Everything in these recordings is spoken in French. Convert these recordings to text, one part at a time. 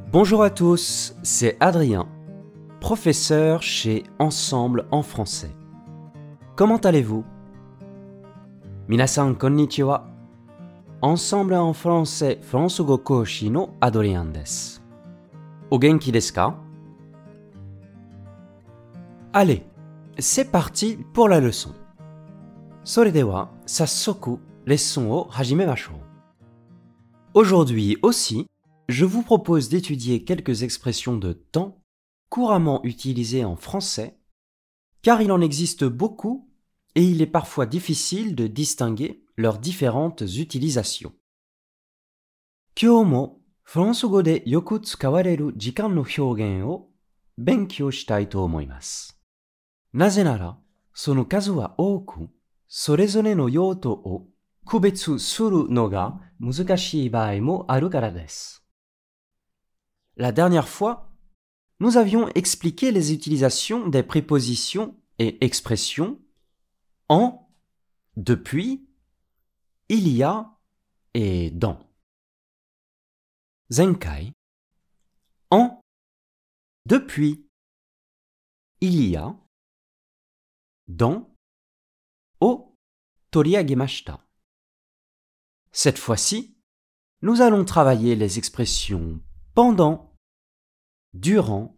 Bonjour à tous, c'est Adrien, professeur chez Ensemble en français. Comment allez-vous? Minasan konnichiwa. Ensemble en français, France go koshi no Adrien desu. O genki desu ka? Allez, c'est parti pour la leçon. それでは早速レッスンを始めましょう。Aujourd'hui aussi, je vous propose d'étudier quelques expressions de temps couramment utilisées en français, car il en existe beaucoup et il est parfois difficile de distinguer leurs différentes utilisations. 今日もフランス語でよく使われる時間の表現を勉強したいと思います。なぜなら、その数は多く、それぞれの用途を区別するのが難しい場合もあるからです。La dernière fois, nous avions expliqué les utilisations des prépositions et expressions en, depuis, il y a et dans. 前回、en, depuis, il y a, dans, を取り上げました。Cette fois-ci, nous allons travailler les expressions pendant, durant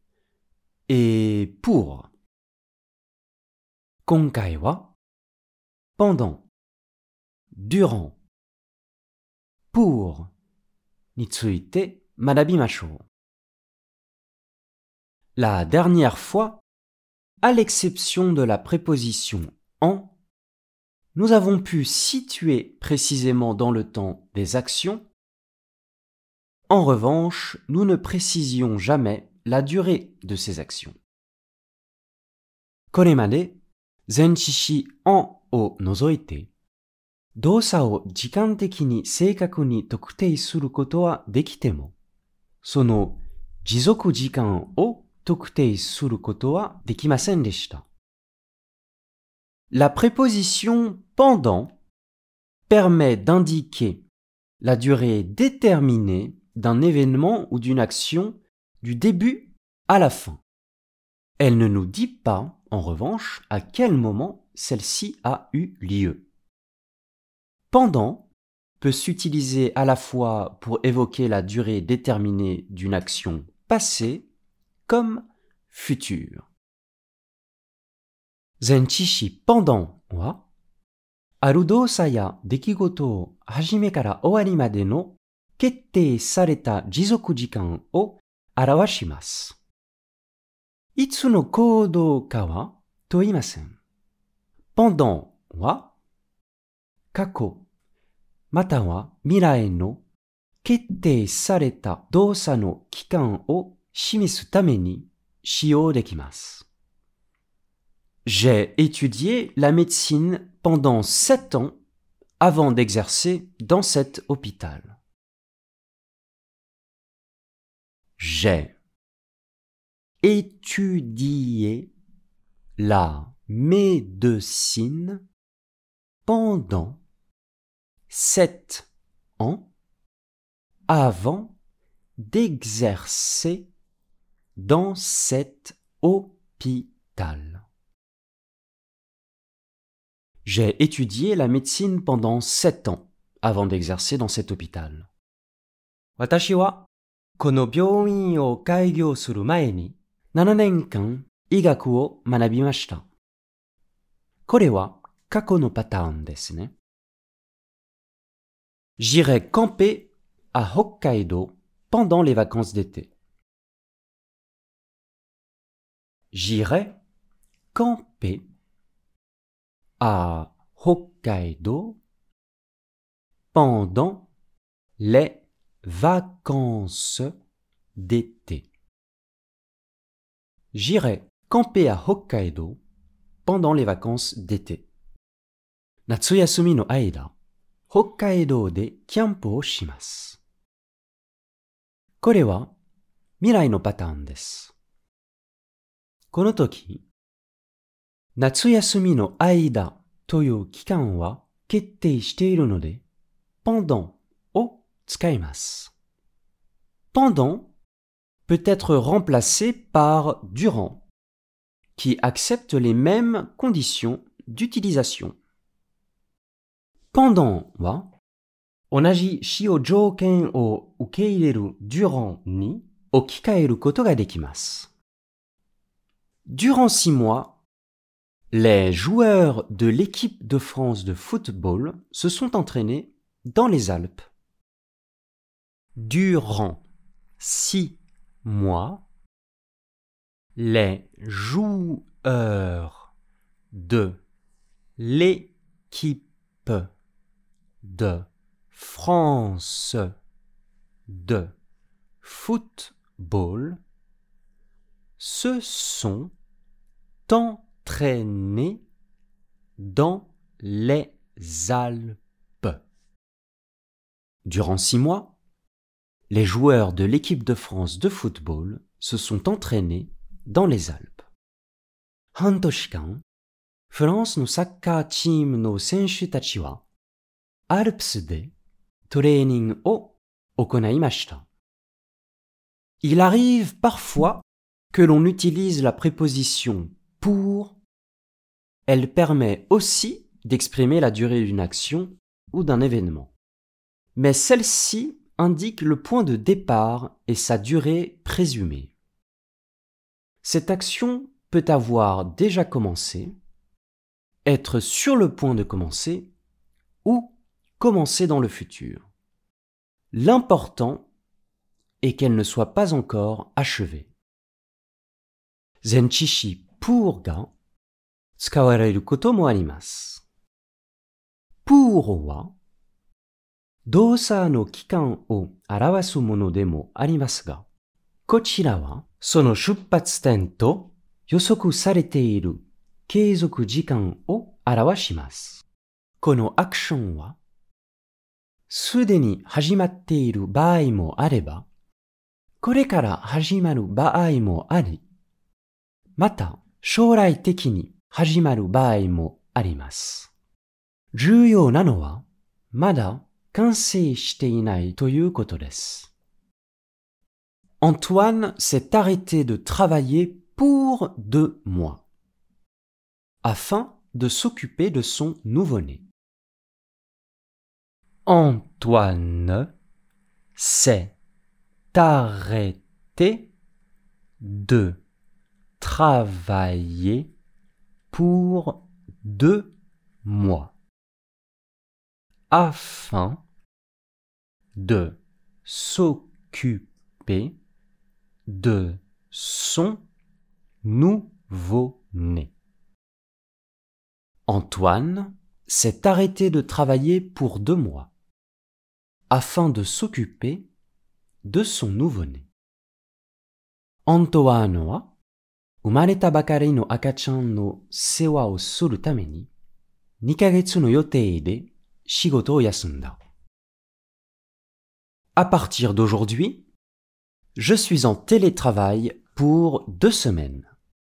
et pour. 今回は pendant, durant, pour について学びましょう。La dernière fois, à l'exception de la préposition en, nous avons pu situer précisément dans le temps des actions. En revanche, nous ne précisions jamais la durée de ces actions. これまで前置詞 en を除いて、動作を時間的に正確に特定することはできても、その持続時間を特定することはできませんでした。La préposition pendant permet d'indiquer la durée déterminée d'un événement ou d'une action du début à la fin. Elle ne nous dit pas, en revanche, à quel moment celle-ci a eu lieu. Pendant peut s'utiliser à la fois pour évoquer la durée déterminée d'une action passée comme future. 前置詞 pendant は、ある動作や出来事を始めから終わりまでの決定された持続時間を表します。いつの行動かは問いません。pendant は、過去、または未来の決定された動作の期間を示すために使用できます。J'ai étudié la médecine pendant 7 ans avant d'exercer dans cet hôpital. J'ai étudié la médecine pendant 7 ans avant d'exercer dans cet hôpital. J'ai étudié la médecine pendant 7 ans avant d'exercer dans cet hôpital. 私はこの病院を開業する前に7年間医学を学びました。これは過去のパターンですね。J'irai camper à Hokkaido pendant les vacances d'été. J'irai camper à Hokkaido pendant les vacances d'été. J'irai camper à Hokkaido pendant les vacances d'été. 夏休みの間、北海道でキャンプをします。これは未来のパターンです。この時、夏休みの間という期間は決定しているので、pendant を使います。pendant peut être remplacé par durant, qui accepte les mêmes conditions d'utilisation. Pendant wa, onaji shio jouken o ukeireru durant ni okikaeru koto ga dekimasu. Durant 6 mois, les joueurs de l'équipe de France de football se sont entraînés dans les Alpes. Durant 6 mois, les joueurs de l'équipe de France de football se sont entraînés dans les Alpes. Durant 6 mois, les joueurs de l'équipe de France de football se sont entraînés dans les Alpes. 半年間、フランスのサッカーチームの選手たちは、アルプスでトレーニングを行いました。Il arrive parfois que l'on utilise la préposition pour. Elle permet aussi d'exprimer la durée d'une action ou d'un événement. Mais celle-ci indique le point de départ et sa durée présumée. Cette action peut avoir déjà commencé, être sur le point de commencer ou commencer dans le futur. L'important est qu'elle ne soit pas encore achevée. Zenchishi pour ga tsukawareru koto mo arimasu. Pour wa dosa no kikan o arawasu mono de mo arimasu ga, kochira wa sono shuppatsu-ten to yosoku sarete iru keizoku jikan o arawashimasu. Kono action wa sude ni hajimatte iru baai mo areba, kore kara hajimaru baai mo ari, mata shourai teki ni hajimaru baai mo arimasu. 重要なのはまだ完成していないということです。Antoine s'est arrêté de travailler pour 2 mois, afin de s'occuper de son nouveau-né. Antoine s'est arrêté de travailler pour 2 mois, afin de s'occuper de son nouveau-né. Antoine s'est arrêté de travailler pour 2 mois, afin de s'occuper de son nouveau-né. Antoine wa umareta bakari no akachan no sewa o suru tame ni 2 kagetsu no yotei de shigoto o yasunda. À partir d'aujourd'hui, je suis en télétravail pour 2 semaines.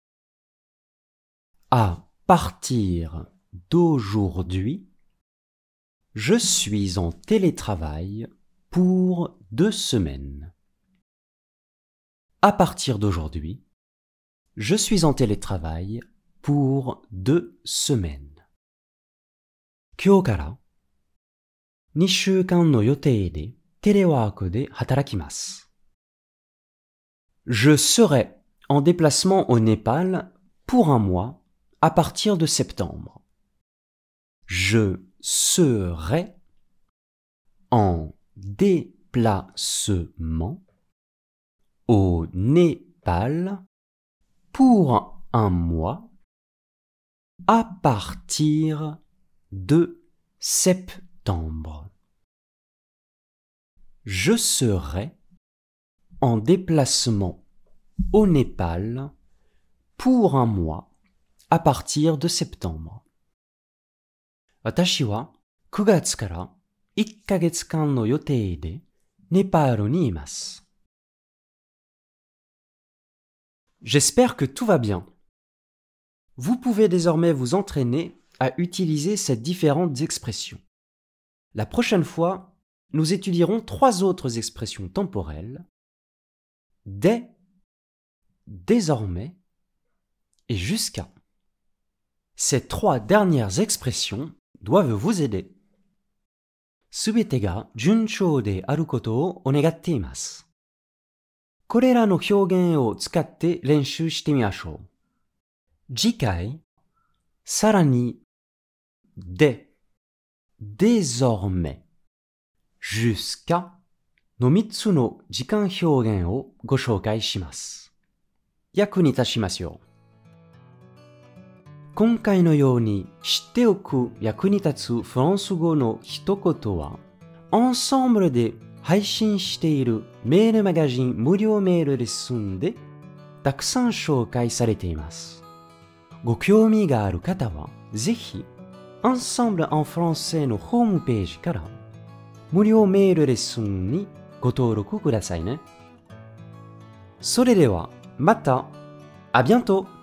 À partir d'aujourd'hui, je suis en télétravail pour 2 semaines. À partir d'aujourd'hui, je suis en télétravail pour 2 semaines. Kyou kara 2週間の予定でテレワークで働きます。Je serai en déplacement au Népal pour 1 mois à partir de septembre. Je serai en déplacement au Népal pour 1 mois à partir de septembre. Je serai en déplacement au Népal pour 1 mois à partir de septembre. Watashi wa 9月から1ヶ月間の予定でネパールにいます。J'espère que tout va bien. Vous pouvez désormais vous entraîner à utiliser ces différentes expressions. La prochaine fois, nous étudierons 3 autres expressions temporelles dès désormais et jusqu'à. Ces trois dernières expressions doivent vous aider. すべてが順調であることをお願っています。これらの表現を使って練習してみましょう。次回、さらに、で、désormais、jusqu'à の3つの時間表現をご紹介します。役に立ちますよ。今回のように知っておく役に立つフランス語の一言は、Ensemble で配信しているメールマガジン無料メールレッスンでたくさん紹介されています。ご興味がある方は、ぜひ Ensemble en français のホームページから無料メールレッスンにご登録くださいね。それではまた、à bientôt!